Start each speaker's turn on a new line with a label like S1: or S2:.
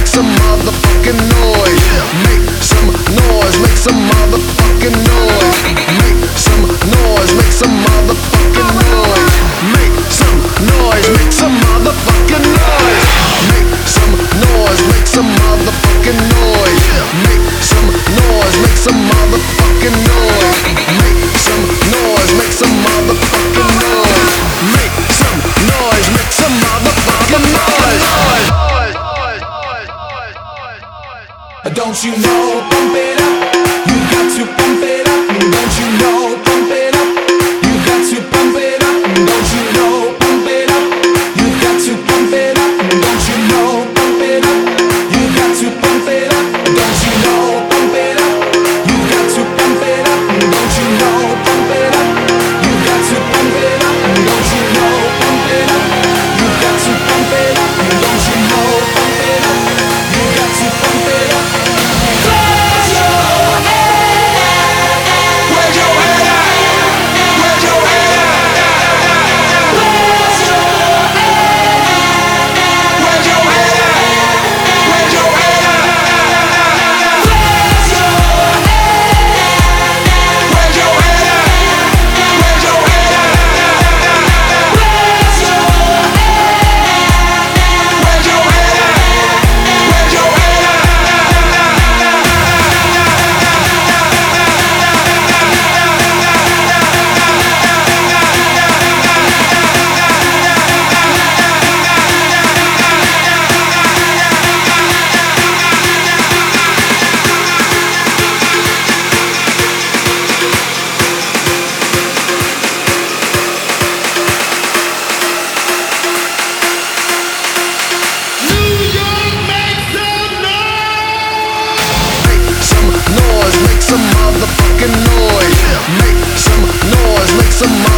S1: some motherfucking noise. Make some noise, make some motherfucking noise. Make some noise, make some motherfucking noise. Make some noise, make some motherfucking noise. Make some noise, make some motherfucking noise. Make some noise, make some motherfucking noise. Make some noise, make some motherfucking noise. Make some noise, make some motherfucking noise.
S2: Don't you know, pump it up, you got to pump it up. Don't you know, pump it up, you got to pump it up. Don't you know, pump it up, you got to pump it up. Don't you know, pump it up, you got to pump it up. Don't you know, pump it up, you got to pump it up. Don't you know, pump it up, you got to pump it up. Don't you know, pump it up, you got to pump it up. Don't you know, pump it up, you got to pump it up.
S1: Make some motherfucking noise. Make some noise, make some